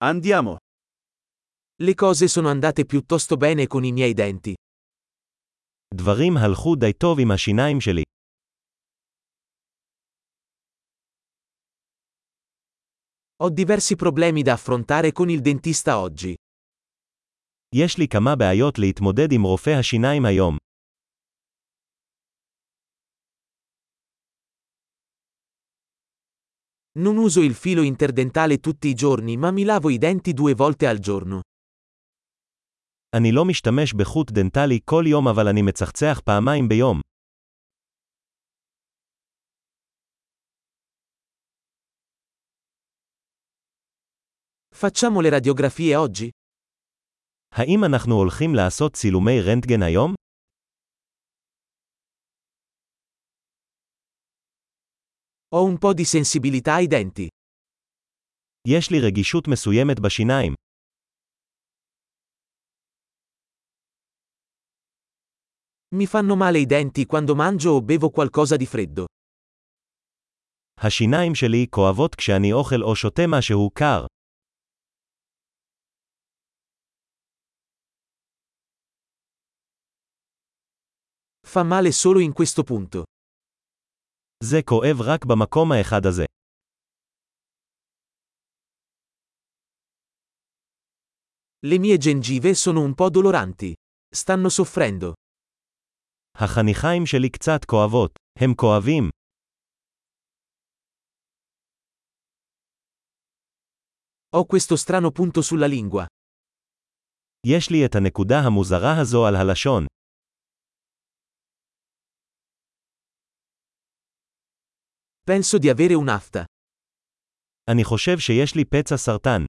Andiamo. Le cose sono andate piuttosto bene con i miei denti. דברים הלכו די טוב עם השיניים שלי. Ho diversi problemi da affrontare con il dentista oggi. יש לי כמה בעיות להתמודד עם רופא השיניים היום. Non uso il filo interdentale tutti i giorni, ma mi lavo i denti 2 volte al giorno. אני לא משתמש בחוט דנטלי כל יום אבל אני מצחצח פעמיים ביום. Facciamo le radiografie oggi? האם אנחנו הולכים לעשות צילומי רנטגן היום? Ho un po' di sensibilità ai denti. יש לי רגישות מסוימת בשיניים. Mi fanno male i denti quando mangio o bevo qualcosa di freddo. השיניים שלי כואבות כשאני אוכל או שותה משהו קר. Fa male solo in questo punto. זה כואב רק במקום האחד הזה. Le mie gengive sono un po' doloranti. Stanno soffrendo. החניכיים שלי קצת כואבות. הם כואבים. Ho questo strano punto sulla lingua. יש לי את הנקודה המוזרה הזו על הלשון. Penso di avere un'afta. אני חושב שיש לי פצע סרטן.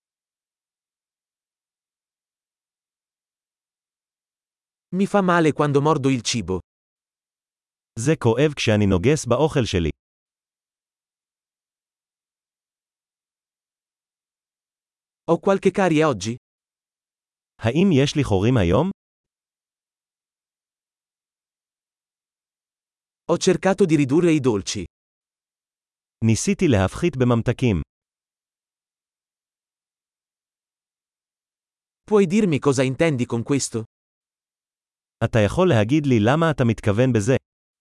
Mi fa male quando mordo il cibo. זה כואב כשאני נוגס באוכל שלי. Ho qualche carie oggi? האם יש לי חורים היום? Ho cercato di ridurre i dolci. ניסיתי להפחית בממתקים. Puoi dirmi cosa intendi con questo? אתה יכול להגיד לי למה אתה מתכוון בזה?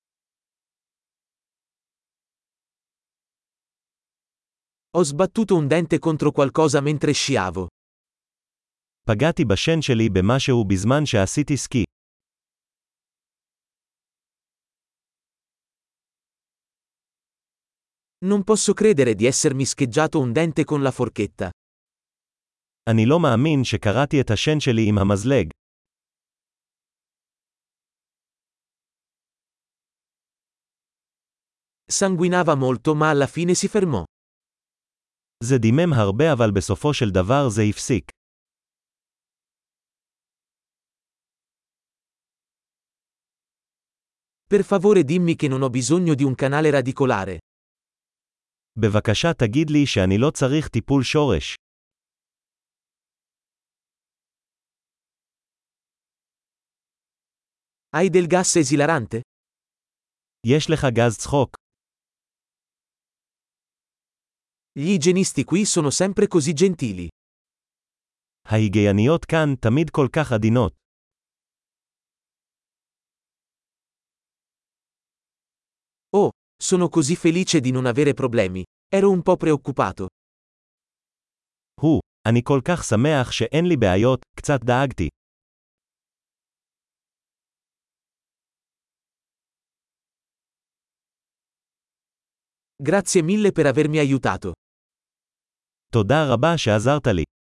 Ho sbattuto un dente contro qualcosa mentre sciavo. פגעתי בשן שלי במשהו בזמן שעשיתי סקי. Non posso credere di essermi scheggiato un dente con la forchetta. אני לא מאמין שקראתי את השן שלי עם המזלג. Sanguinava molto ma alla fine si fermò. זה דימם הרבה אבל בסופו של דבר זה הפסיק. Per favore dimmi che non ho bisogno di un canale radicolare. בבקשה תגיד לי שאני לא צריך טיפול שורש. Hai del gas esilarante? יש לך גז צחוק. Gli igienisti qui sono sempre così gentili. ההיגייניות כאן תמיד כל כך עדינות. Oh, sono così felice di non avere problemi. Ero un po' preoccupato. אני כל כך שמח שאין לי בעיות, קצת דאגתי. Grazie mille per avermi aiutato. תודה רבה שעזרת לי.